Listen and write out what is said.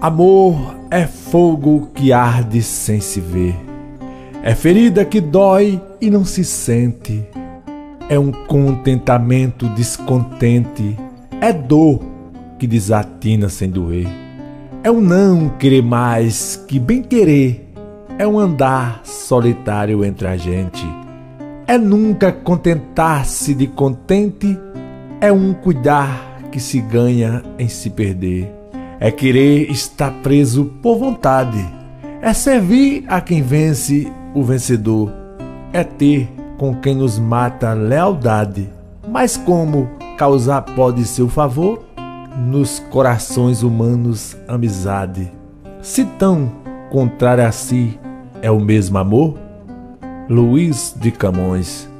Amor é fogo que arde sem se ver. É ferida que dói e não se sente. É um contentamento descontente. É dor que desatina sem doer. É um não querer mais que bem querer. É um andar solitário entre a gente. É nunca contentar-se de contente. É um cuidar que se ganha em se perder. É querer estar preso por vontade. É servir a quem vence o vencedor. É ter com quem nos mata lealdade. Mas como causar pode seu favor? Nos corações humanos amizade. Se tão contrário a si é o mesmo amor? Luís de Camões.